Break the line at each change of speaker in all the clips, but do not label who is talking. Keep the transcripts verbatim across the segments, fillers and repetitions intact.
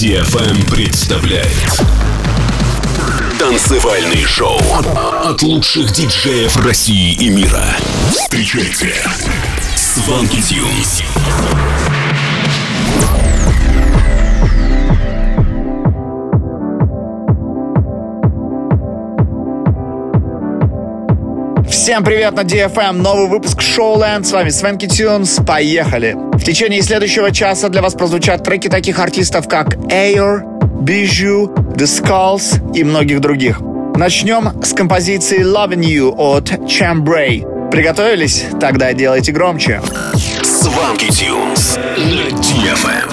ди эф эм представляет танцевальный шоу от лучших диджеев России и мира. Встречайте Swanky Tunes.
Всем привет на ди эф эм, новый выпуск Showland, с вами Swanky Tunes, поехали! В течение следующего часа для вас прозвучат треки таких артистов, как Air, Bijou, The Skulls и многих других. Начнем с композиции Loving You от Chambray. Приготовились? Тогда делайте громче.
Swanky Tunes на ди эф эм.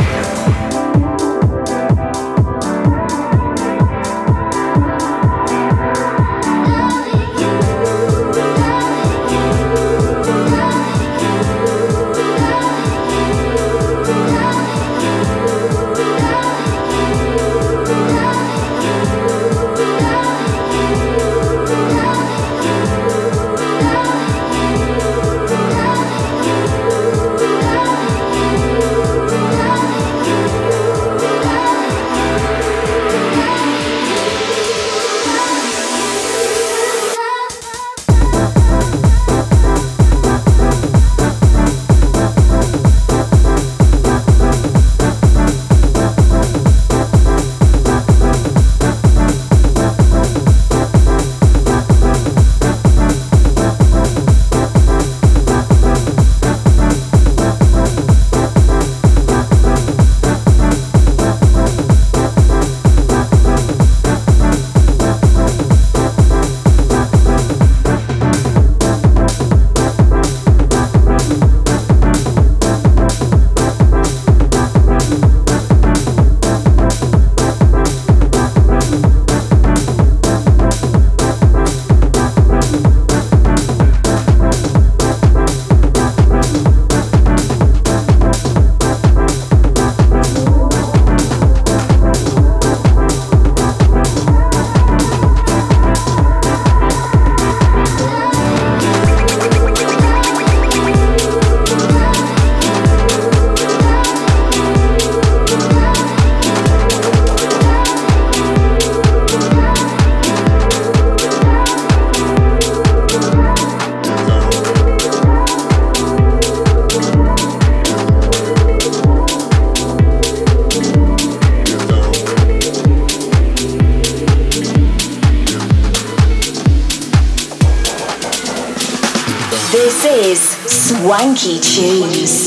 This is Swanky Tunes.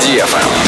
ди эф эм.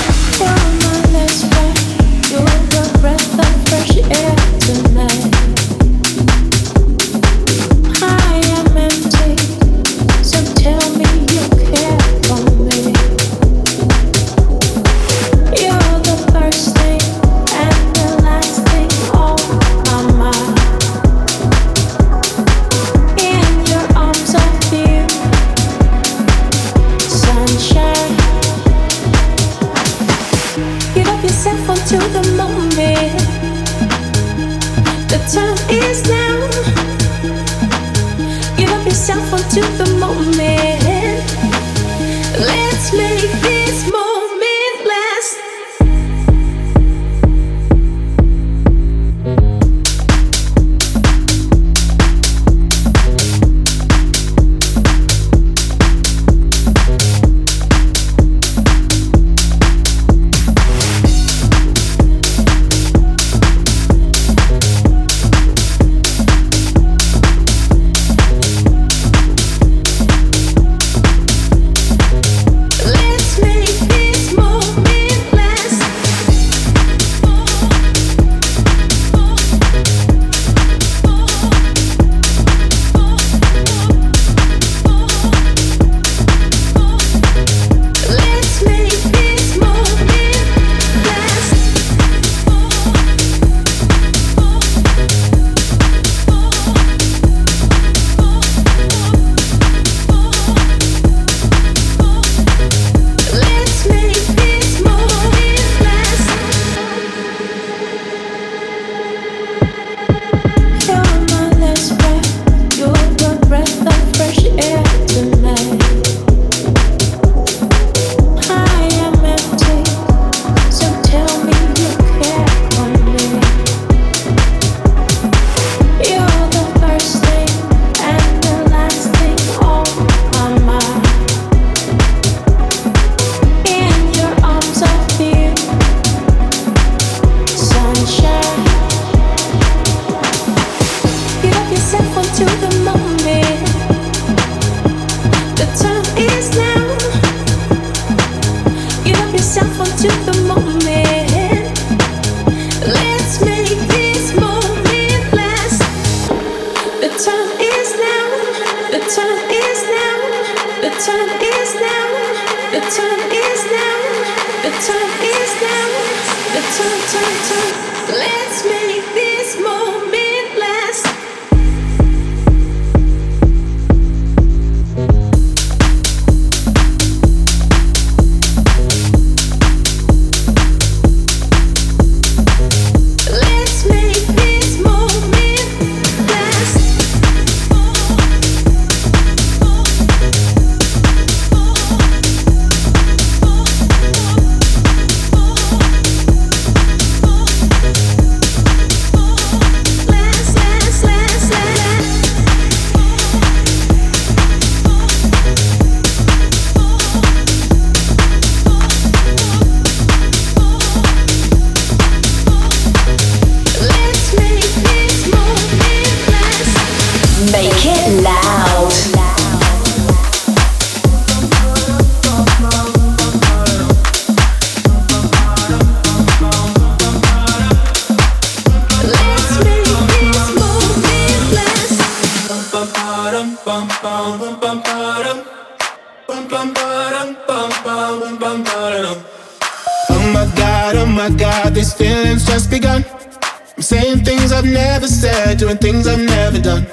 Oh my God, oh my God, these feelings just begun. I'm saying things I've never said, doing things I've never done.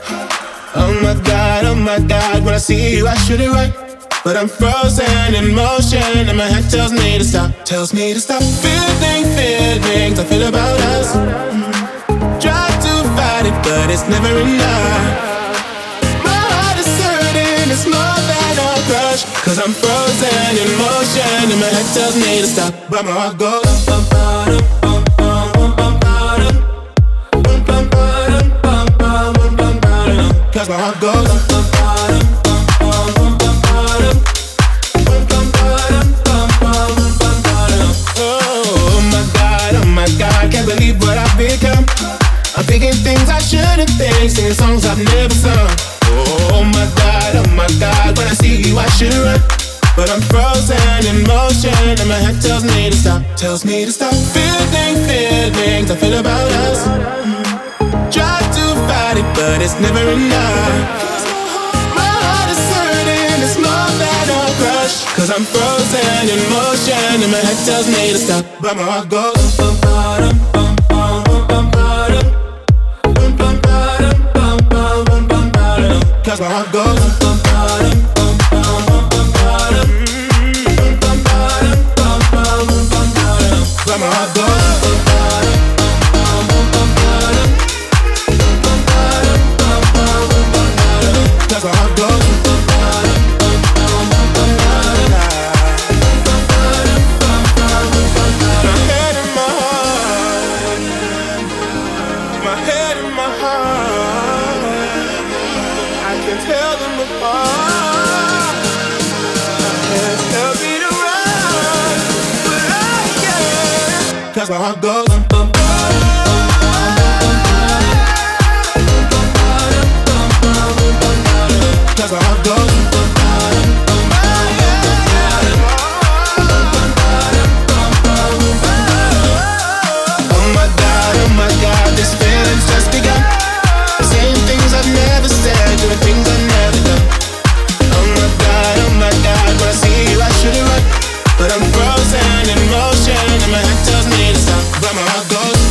Oh my God, oh my God, when I see you I should it right, but I'm frozen in motion and my head tells me to stop, tells me to stop. Feeling feelings I feel about us. Try to fight it, but it's never enough. It's more than a crush, cause I'm frozen in motion and my head tells me to stop, but my heart goes bum, bum, bum, bum, bum, bum, bum, bum, bum, bum, bum, bum, cause my heart goes bum, bum, bum, bum, bum, bum, oh my God, oh my God, can't believe what I've become. I'm thinking things I shouldn't think, singing songs I've never sung. Oh my God, oh my God, when I see you I should run, but I'm frozen in motion, and my head tells me to stop, tells me to stop. Feeling feelings I feel about us. Try to fight it, but it's never enough. My heart is hurting, it's more than a crush. Cause I'm frozen in motion, and my head tells me to stop, but my heart goes bum, bum, bum, bum, bum, bum, bum, bum, bum, bum, bum, bum, bum, bum. Cause my heart goes bum, bum, bum, bum, bum, bum, bum, bum, bum, bum, bum, bum. But my heart goes bum, bum, bum, bum, bum, bum, bum, bum, bum, bum. Cause my heart goes bum, bum, bum, bum, bum, bum, bum. My head and my heart, my head and my heart, I can tell them apart. My head tells me to run, but I can't. Cause my heart goes bum, bum, bum, cause my heart goes bum, bum, oh my God, oh my God, this feeling's just begun. Saying things I've never said, doing things I've never done. Oh my God, oh my God, when I see you I should've run, but I'm frozen in motion, and my head tells me to stop, but my heart goes.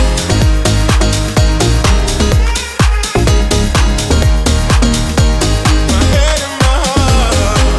My head and my heart.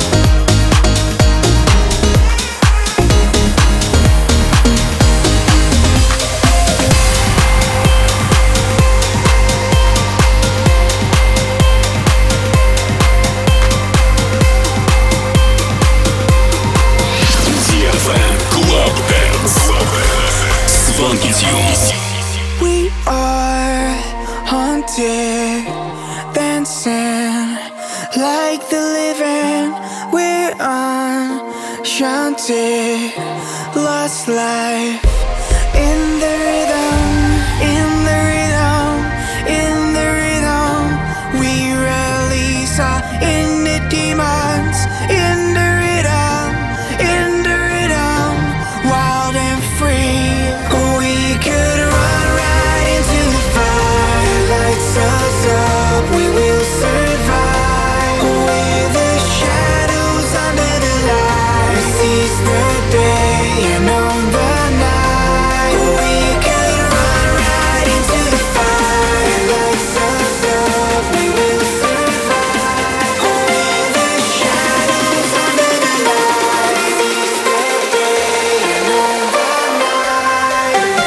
ди эф эм Club Dance. Swanky Tunes.
We are haunted, dancing like the living. We're enchanted, lost life in the rhythm, in the rhythm, in the rhythm. We release our inner demons in the rhythm, in the rhythm, wild and free. We could run right into the fire, lights us up, we will survive. With the shadows under the light, we seize the day and own the night. We could run right into the fire, lights us up, we will survive. With the shadows under the light, we seize the day and own the night.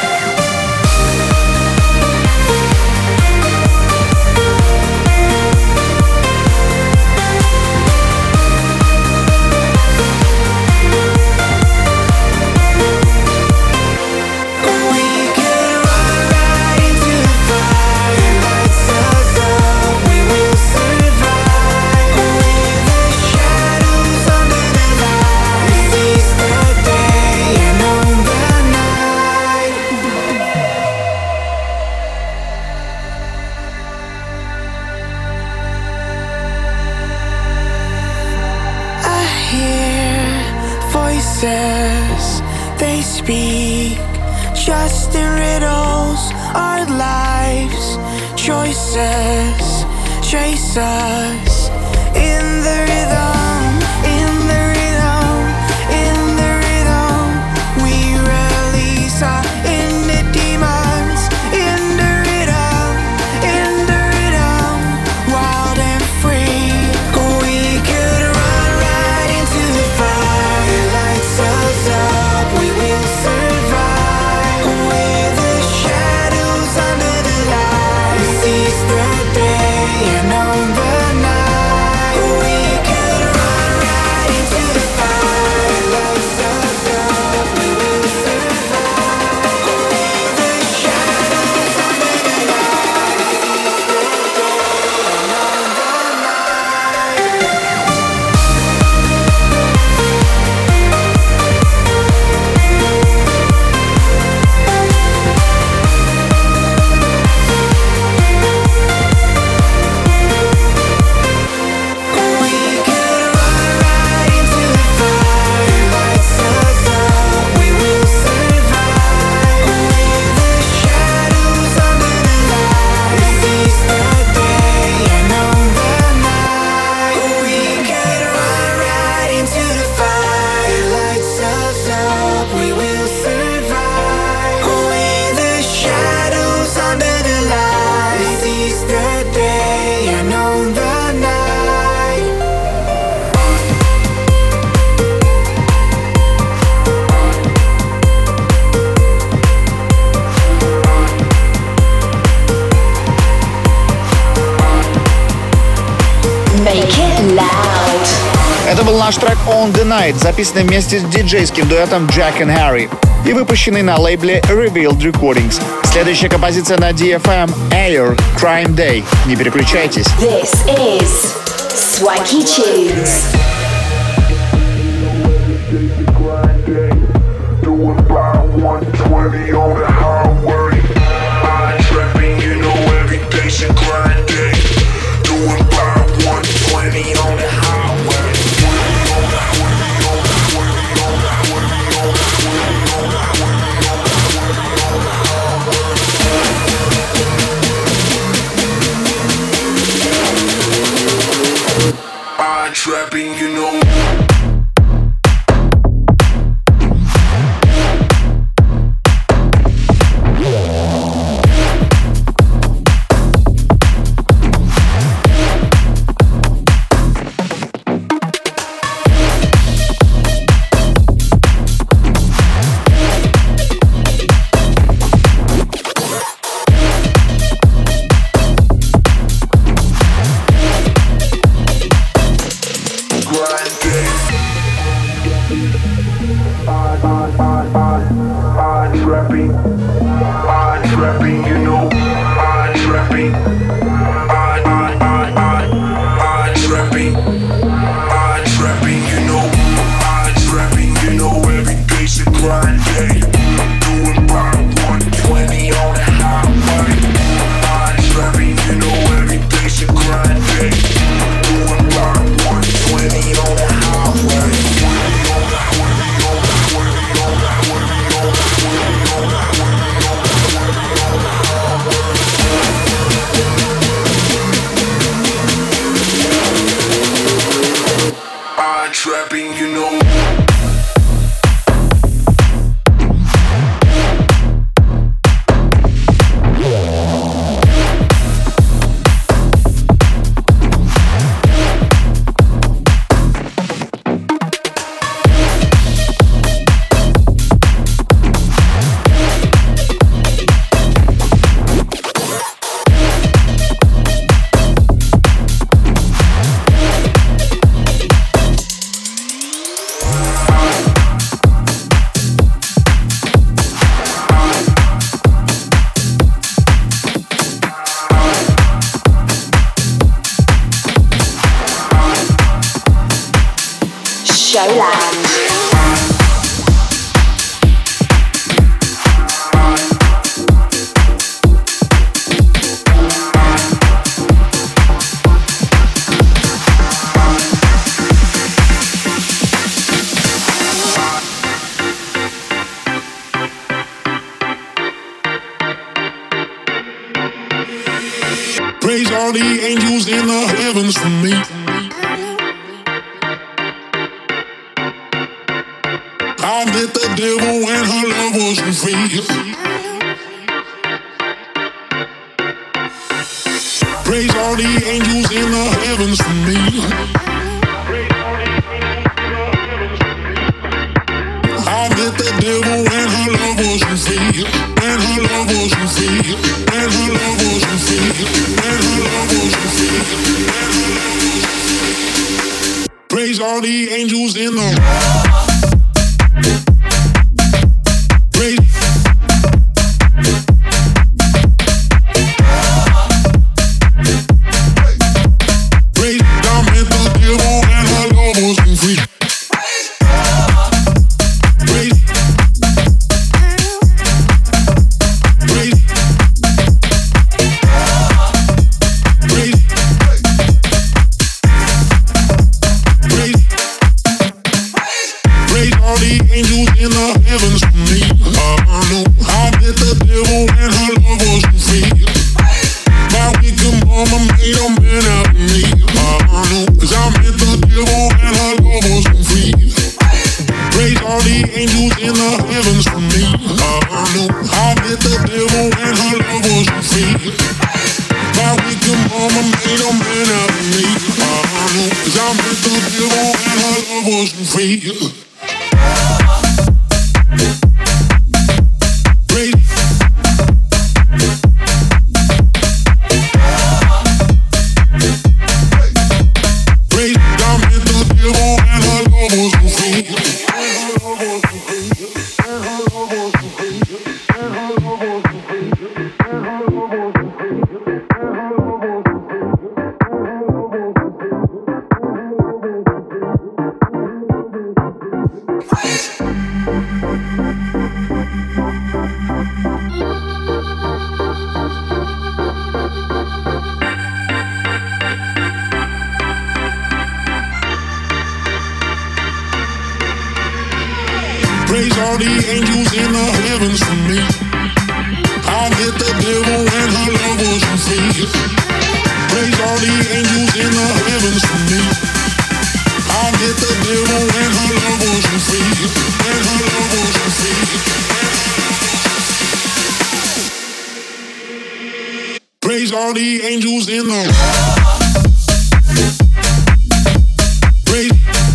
We could run right into the fire, lights us up, we will survive. With the shadows under the light, we seize the day and own the night. I hear voices, they speak just in riddles. Our lives, choices, chase us in the rhythm, in the rhythm, in the rhythm. We release our inner demons in the rhythm, in the rhythm, wild and free. We could run right into the fire, lights us up, we will survive. With the shadows under the light, we seize the day and own the night. We could
наш трек On The Night, записанный вместе с диджейским дуэтом Jack and Harry и выпущенный на лейбле Revealed Recordings. Следующая композиция на ди эф эм Air Crime Day. Не переключайтесь.
This is Swanky Tunes.
Doing about one twenty on the highway. I'm trapping, you know every day's a grind day. Doing about one twenty on the highway. I'm trapping, you know.
Praise all the angels in the heavens for me. I met the devil when her love wasn't free. Praise all the angels in the heavens for me. I met the devil when her love wasn't free. When her love wasn't free. When her love wasn't free. When her love wasn't free. Praise all the angels in the praise. Praise. I met the devil when her love wasn't free. Praise God, met the devil and her Praise all the angels in the heavens for me. I hit the devil when her love wasn't free. Praise all the angels in the heavens for me. I hit the devil when her love wasn't free. When her love wasn't free. Praise all the angels in the praise.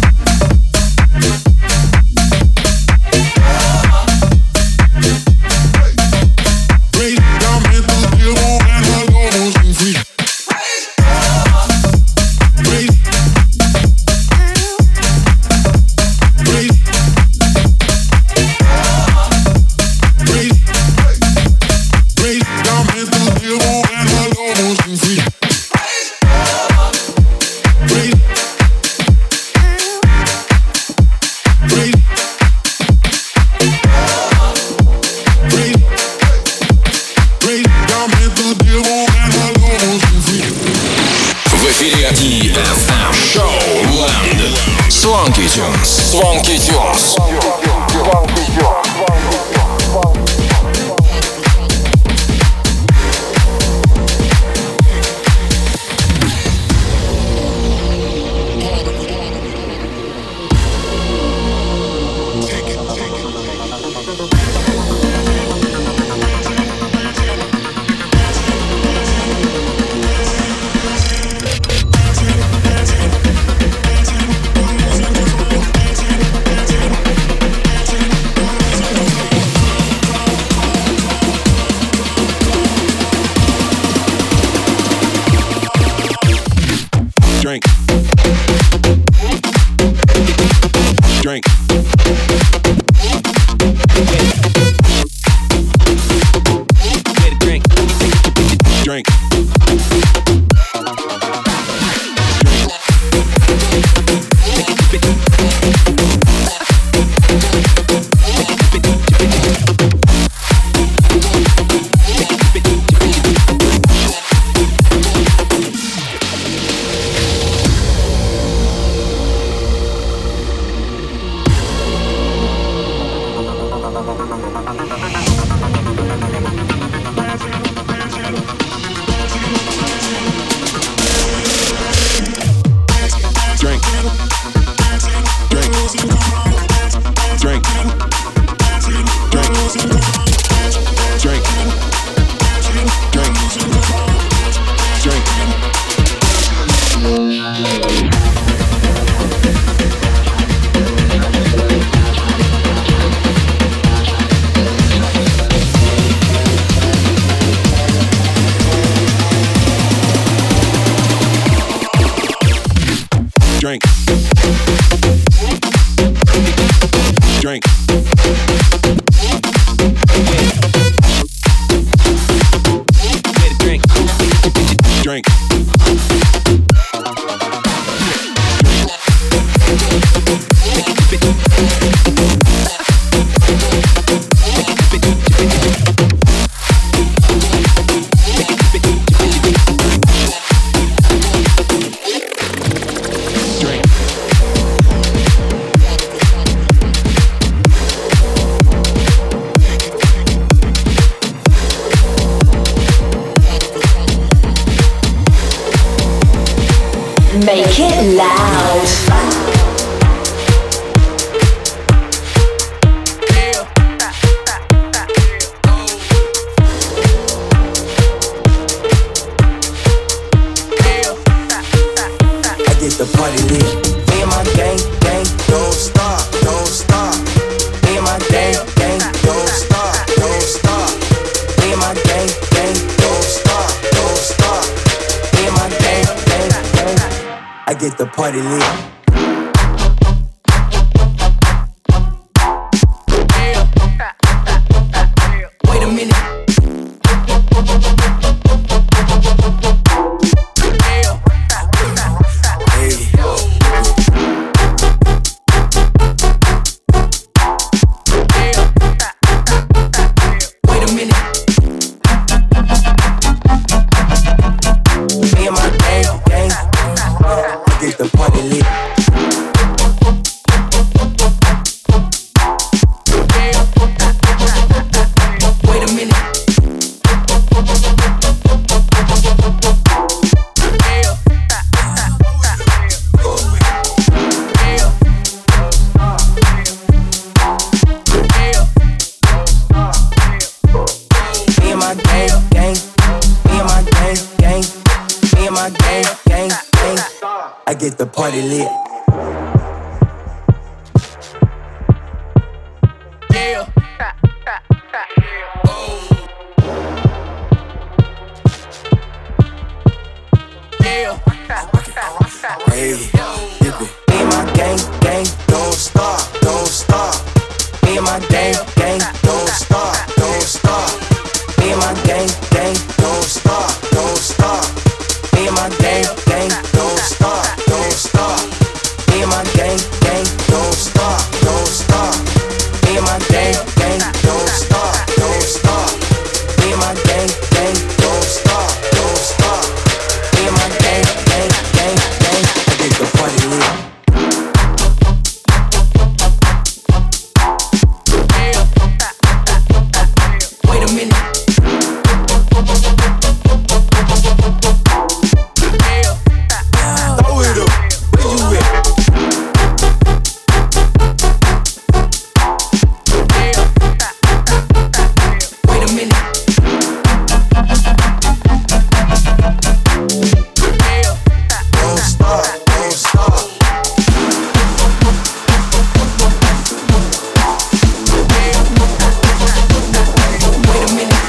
Swanky Tunes. Swanky Tunes.
Drink. Drink. Drink. Drink. Drink. Drink. Drink.
Make it loud.
The party lit. Me and my gang, gang, don't stop, don't stop. Me and my gang, gang, don't stop, don't stop. Me and my gang, gang, don't stop, don't stop. Me and my gang, gang, gang. I get the party lit. Wait a minute. the party lit. Yeah. Oh. Yeah. Hey, dip it. Me and my gang, gang, don't stop, don't stop. Me and my gang, gang, don't stop, don't stop. Me and my gang, gang, don't stop, don't stop. Me and my gang, gang, don't stop, don't stop. Me and my gang, gang, don't stop, don't stop. Me and my gang, gang, don't stop, don't stop. Me and my gang, gang, don't stop, don't stop. Me and my gang, gang, gang, gang, I get the party lit. Wait a minute. Throw it up. Where you at? Wait a minute. Don't stop, don't stop. Wait a minute.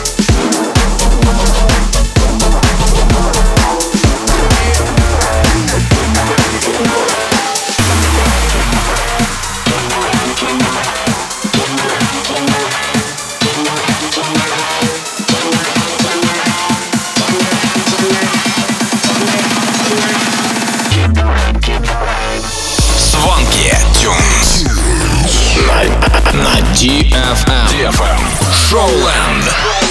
Swanky Tunes на, на ди эф эм. ди эф эм. Showland.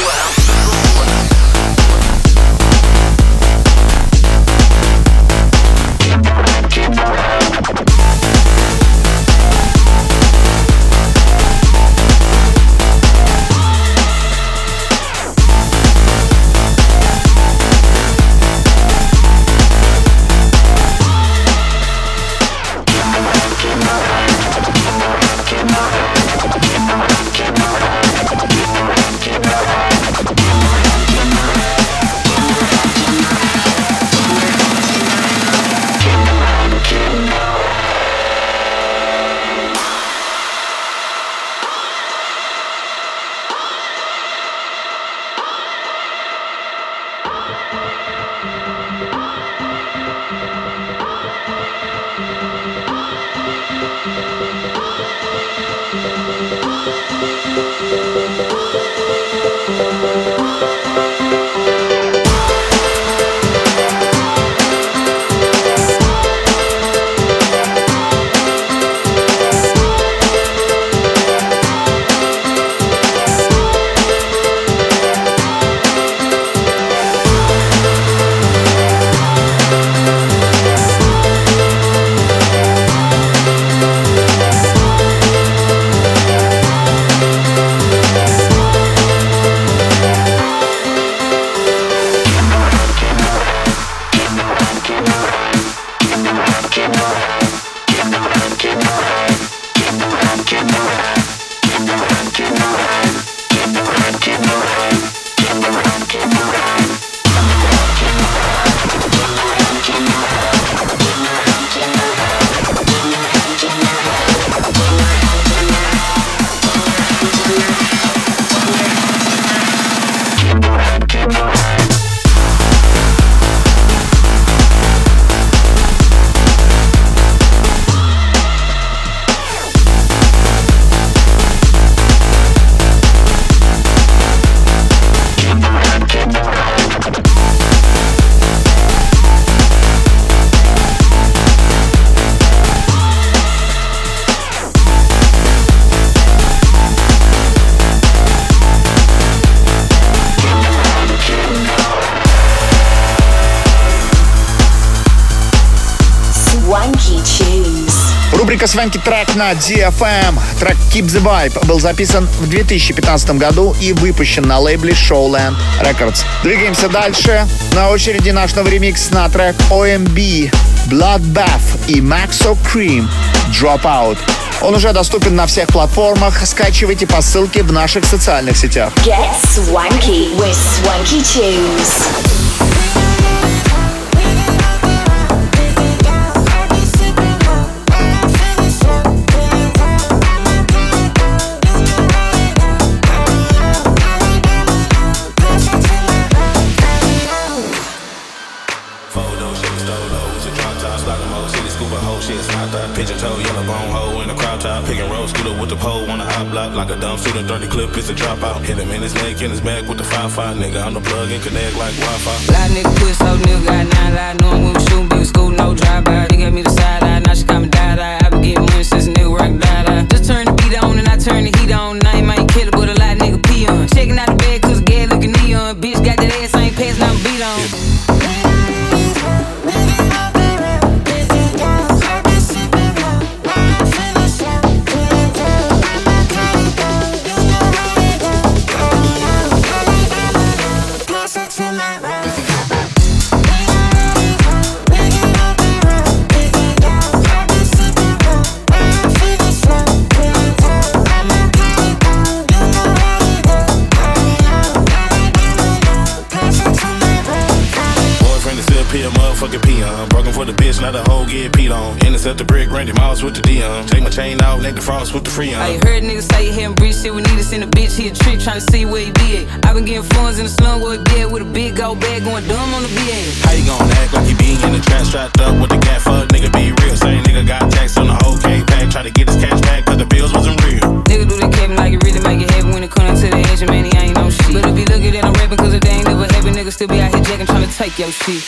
Рубрика «Свенки трек» на ди эф эм. Трек «Keep the Vibe» был записан в две тысячи пятнадцатом году и выпущен на лейбле Showland Records. Двигаемся дальше. На очереди наш новый ремикс на трек о эм би, Bloodbath и Maxo Cream Dropout. Он уже доступен на всех платформах. Скачивайте по ссылке в наших социальных сетях.
Get swanky with Swanky Tunes.
like a dumb student, thirty clip, it's a dropout. Hit him in his neck, in his back with the five five, nigga. I'm the plug and connect like Wi-Fi.
Lot nigga push, so nigga got nine live. Knowing we was shooting, big school, no drive-by. They gave me the side eye, now she call me die-die. I been getting money since a nigga rock die-die. Just turn the beat on and I turn the heat on. I ain't might kill it, but a lot of nigga pee on. Checking out the bed, cause the gas looking neon. Bitch got that ass, I ain't passing out beat on. Yeah.
Motherfucking peon, broken for the bitch, not a hoe get peed on. Intercept the brick, Randy Moss with the Dion. Take my chain out, neck the frost with the Freon.
I heard niggas say he hadn't breached shit. We need to send a bitch, he a trick, tryna see where he be at. I been getting funds in the slum where he be at, with a big gold bag going dumb on the B A.
How you gon' act like you be in the trap, strapped up with the cat? Fuck nigga, be real. Same nigga got taxed on the whole K pack, try to get his cash back, cause the bills wasn't real.
Nigga do that cabin like it really make it happen. When it come to the edge, man, he ain't no shit. But if he look at it, I'm rapping cause it ain't never happen. Nigga still be out here jacking, tryna take your shit.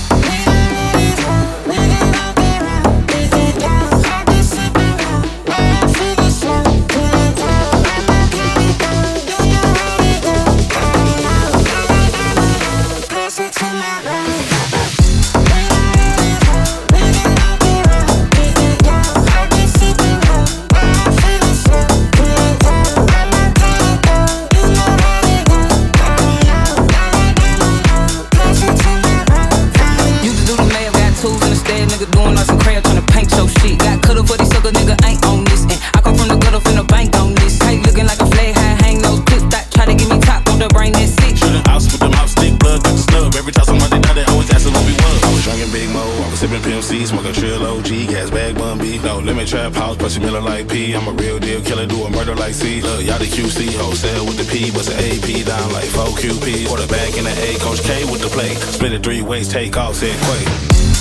Trap house, pussy miller like P. I'm a real deal killer, do a murder like C. Look, y'all the Q C, wholesale with the P. Bust an A P down like four Q P. Quarterback in the A, Coach K with the play. Split it three ways, take off, said Quay.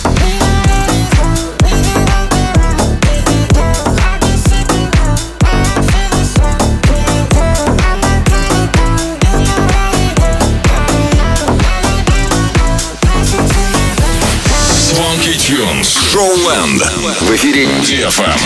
Swanky Tunes. Showland. В эфире ди эф эм.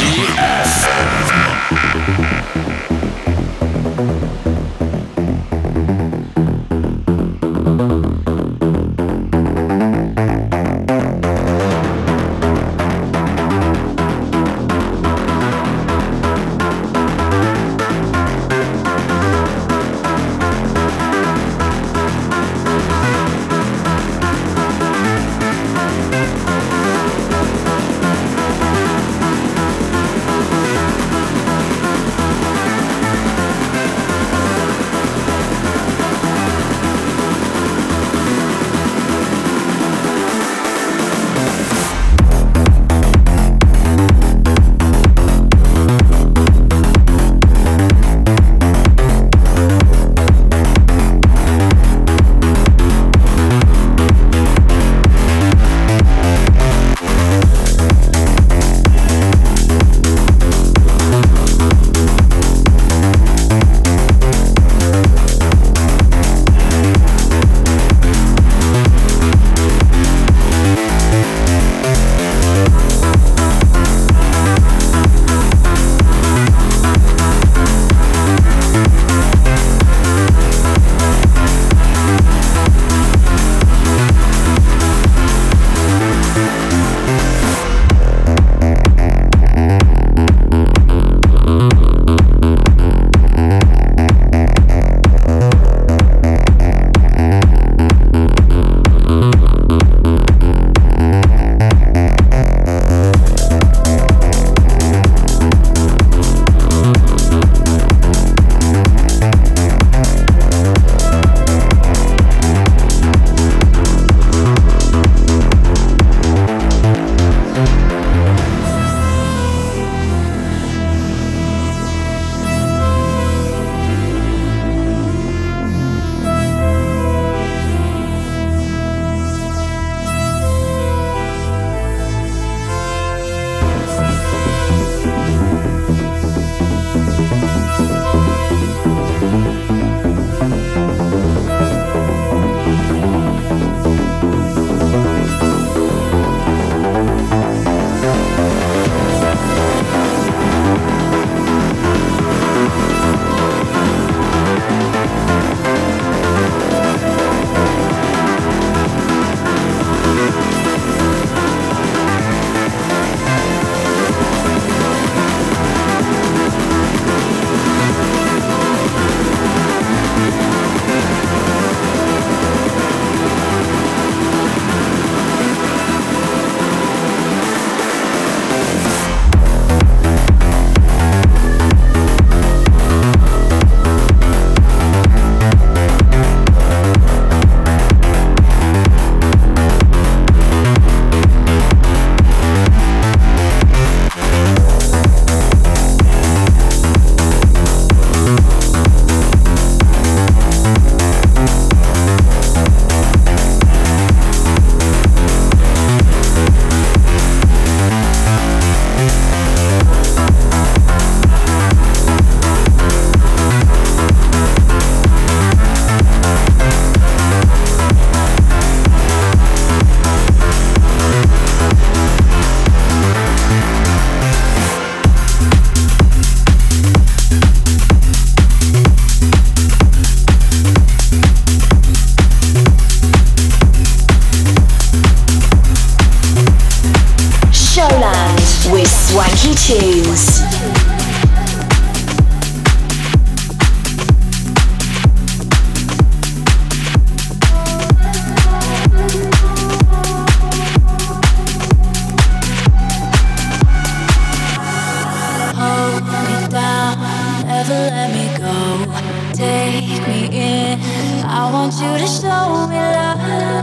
me in. I want you to show me love.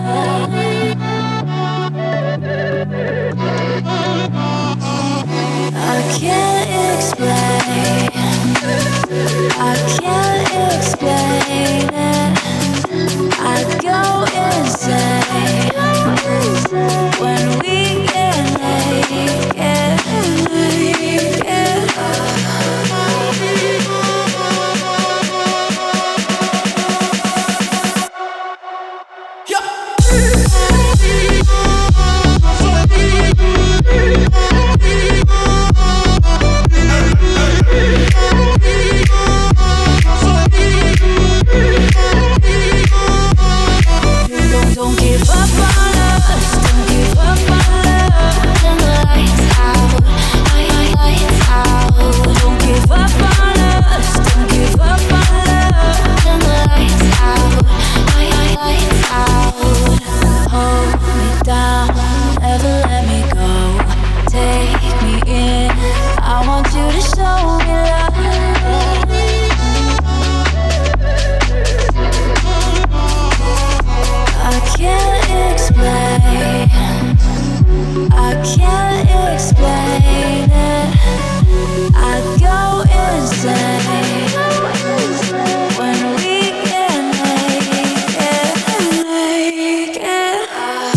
I can't explain. I can't explain it. I go insane when we get naked. Don't give up on us, don't give up on love. Turn the lights out, lights out. Don't give up on us, don't give up on love. Turn the lights out, lights out. Hold me down, never let me go. Take me in, I want you to show me love. I can't explain, I can't explain it. I go insane when we get naked, naked.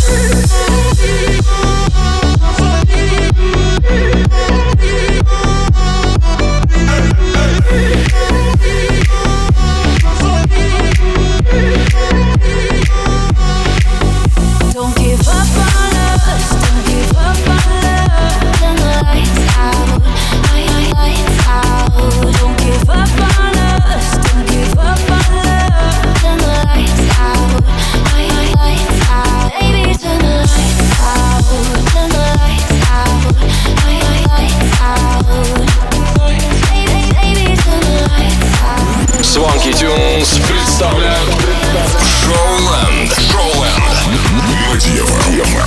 Don't give up on us, don't give up on love. Turn the lights out, lights out. Don't give up on us, don't give up on love. Turn the lights out, lights out. Baby, turn the lights out, turn the lights out, lights out. Baby, baby, turn the lights out.
Swanky Tunes представляют Showland. Showland. Мотива.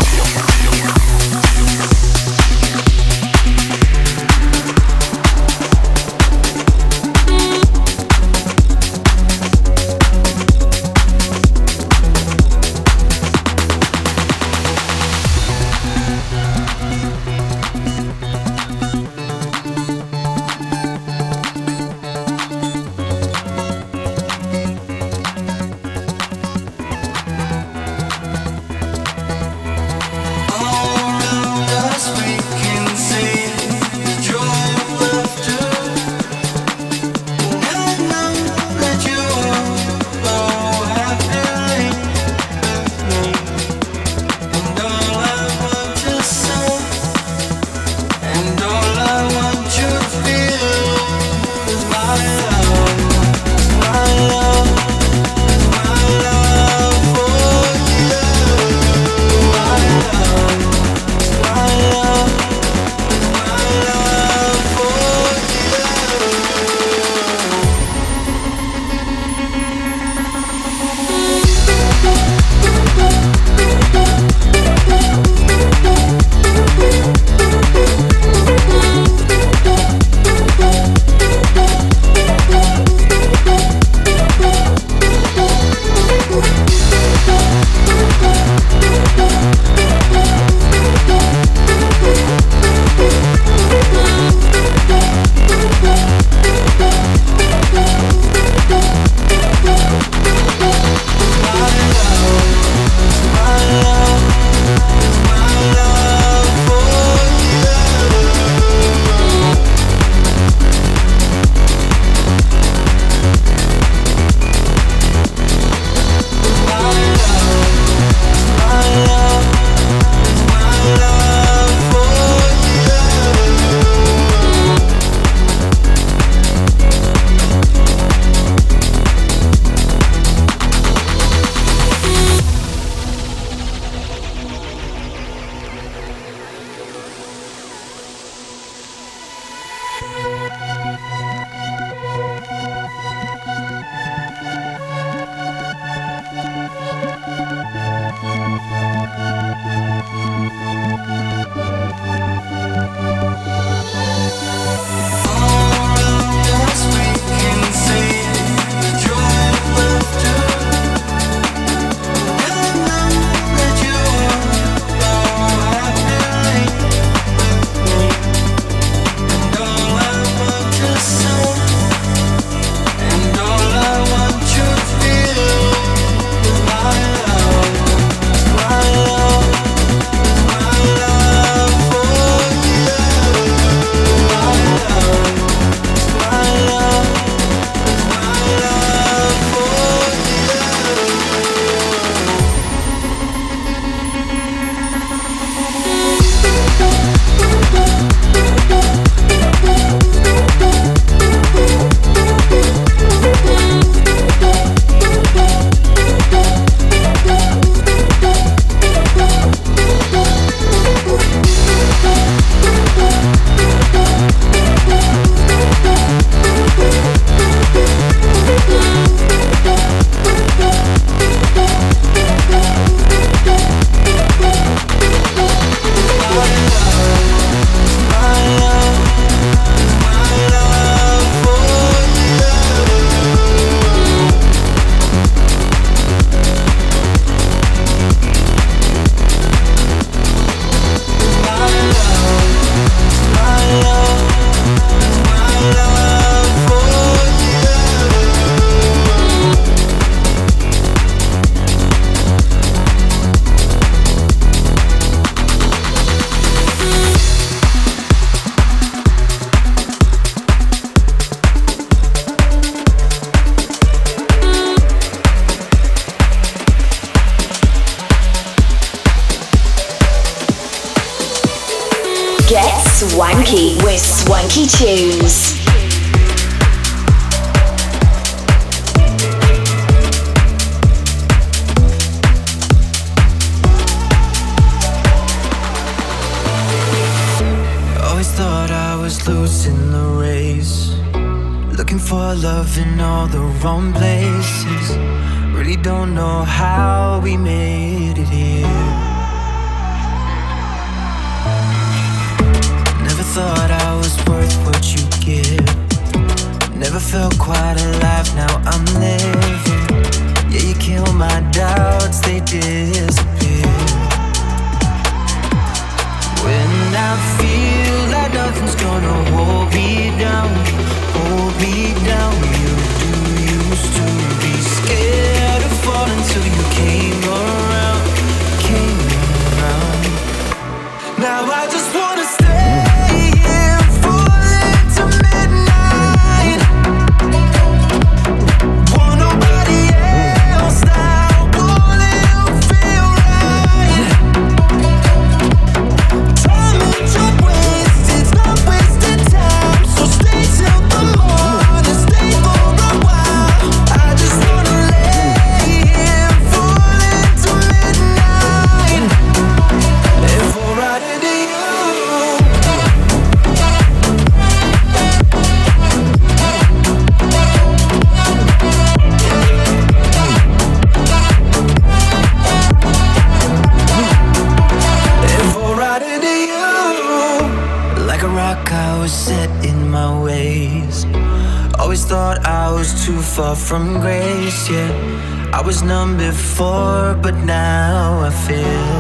Swanky with Swanky Tunes.
Always thought I was losing the race, looking for love in all the wrong places. Really don't know how we made it here. Never thought I was worth what you give. Never felt quite alive, now I'm living. Yeah, you kill my doubts, they disappear. When I feel like nothing's gonna hold me down, hold me down. You do used to be scared of falling till you came around, came around. Now I just wanna stay here, falling to midnight. Want nobody else now, all it'll feel right. Time ain't just wasted, it's not wasted time. So stay till the morning, stay for a while. I just wanna lay here, falling to midnight. And fall right into you. And fall right into you. Like a rock, I was set in my ways. Always thought I was too far from grace, yeah. I was numb before, but now I feel.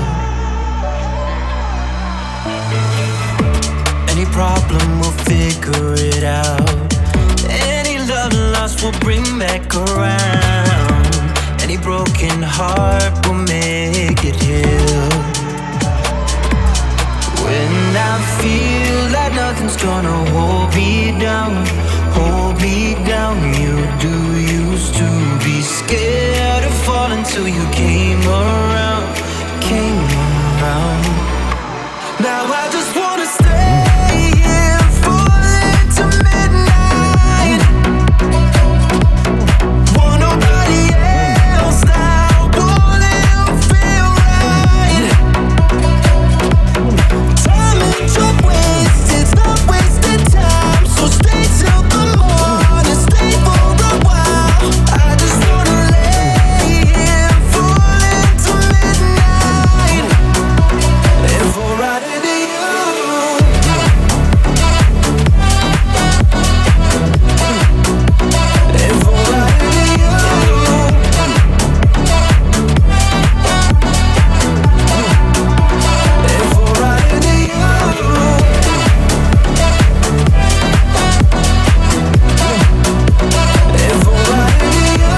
Any problem, we'll figure it out. Any love lost, we'll bring back around. Any broken heart, we'll make it heal. When I feel like nothing's gonna hold me down, hold me down. You do used to be scared of falling till you came around, came around. Now I just wanna stay here, falling to midnight. Want nobody else now, all it'll feel right. Time ain't just wasted, it's not wasted time. So stay till the morning, stay for a while. I just wanna lay here, falling to midnight. And fall right into you. And fall right into you. And fall right into you. And fall right into you.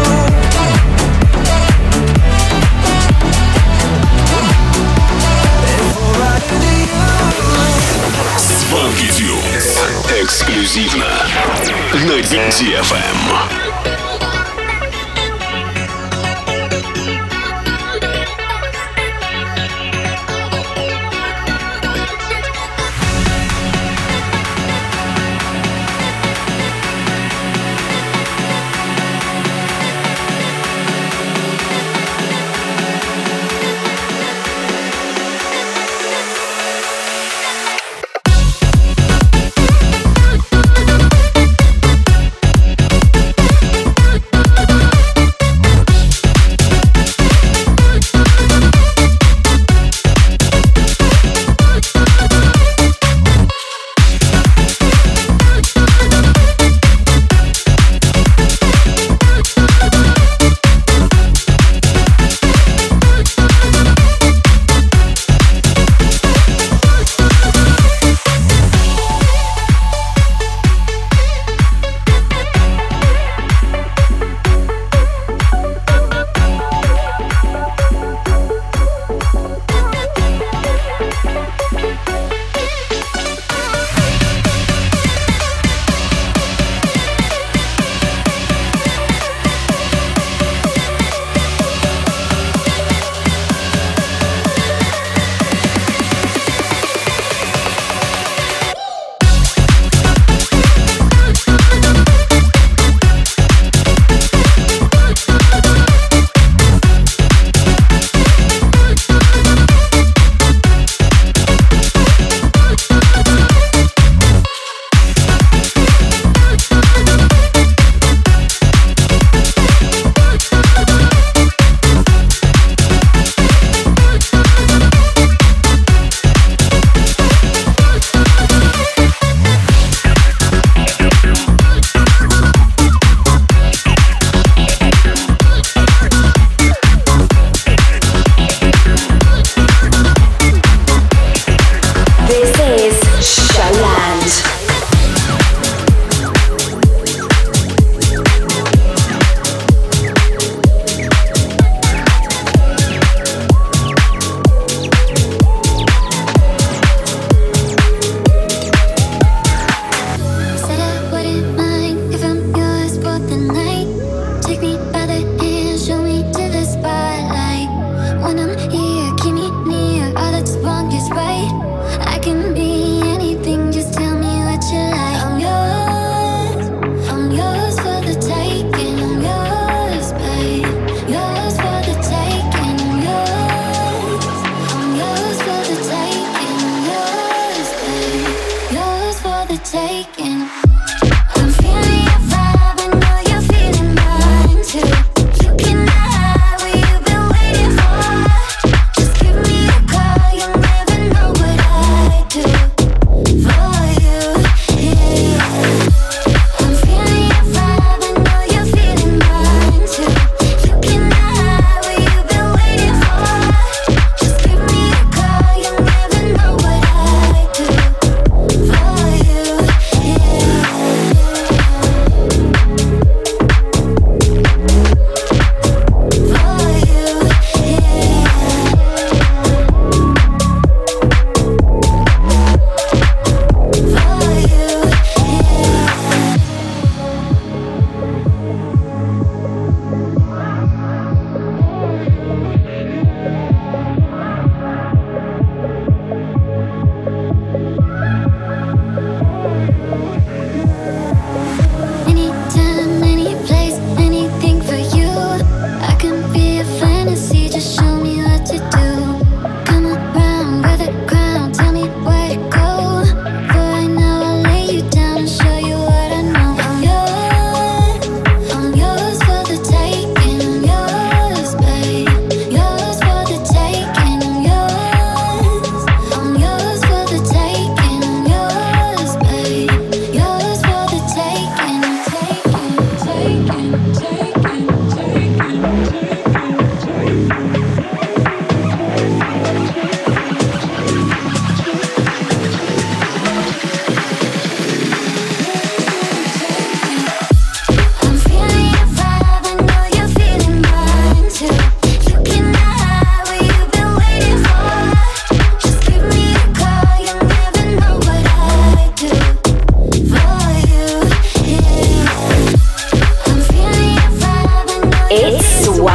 And fall right into you.
Swanky Tunes. Эксклюзивно на ди эф эм.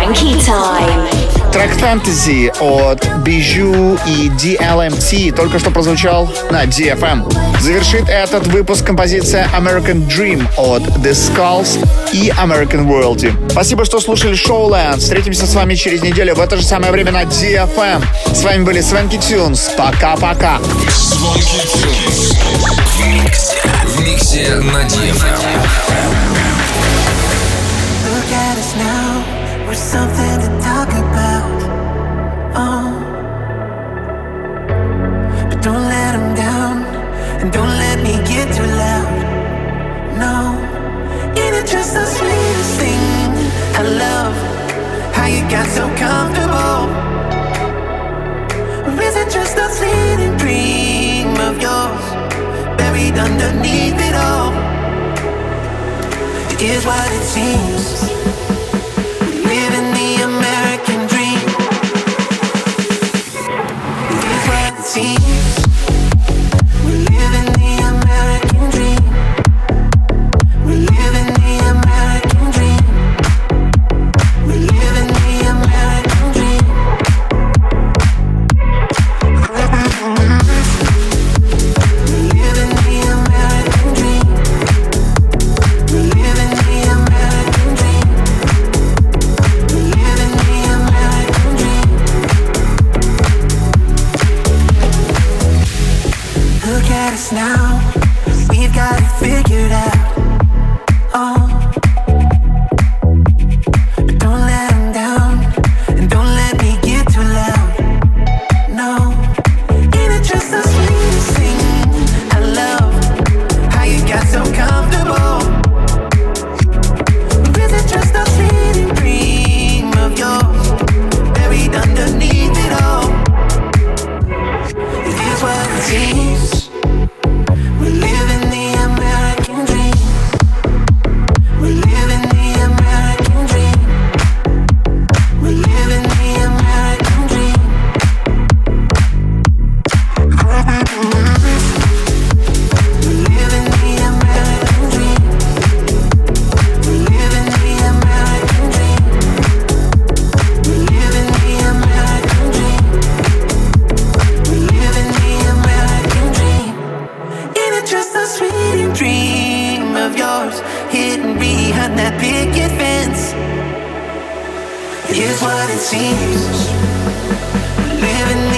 Swanky Time.
Трек Fantasy от Bijou и ди эл эм ти только что прозвучал на ди эф эм. Завершит этот выпуск композиция American Dream от The Skulls и American World. Спасибо, что слушали Showland. Встретимся с вами через неделю в это же самое время на ди эф эм. С вами были Swanky Tunes. Пока-пока.
Swanky Tunes. В миксе. В миксе на ди эф эм.
Look at us now, we're something to talk about. Oh, but don't let them down, and don't let me get too loud. No, ain't it just the sweetest thing? I love how you got so comfortable. Or is it just a fleeting dream of yours, buried underneath it all? It is what it seems. Living the American dream. It is what it seems. We're living the American dream. We're living the American dream. We're living the American dream. We're living the American dream. We're living the American dream. We're living the American dream. Look at us now, we've got it figured out. Oh, but don't let them down, and don't let me get too loud. No, ain't it just the sweetest thing? I love how you got so comfortable. Or is it just a fleeting dream of yours, buried underneath it all? It is what it seems. We're living the American dream. We're living the American dream. We're living the American dream. We're living the American dream. We're living the American dream. We're living the American dream. We're living the American dream. Ain't it just a sweet dream of yours, hidden behind that picket fence? Here's what it seems. We're living the